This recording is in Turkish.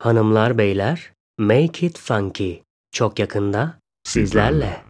Hanımlar beyler, Make It Funky çok yakında sizlerle.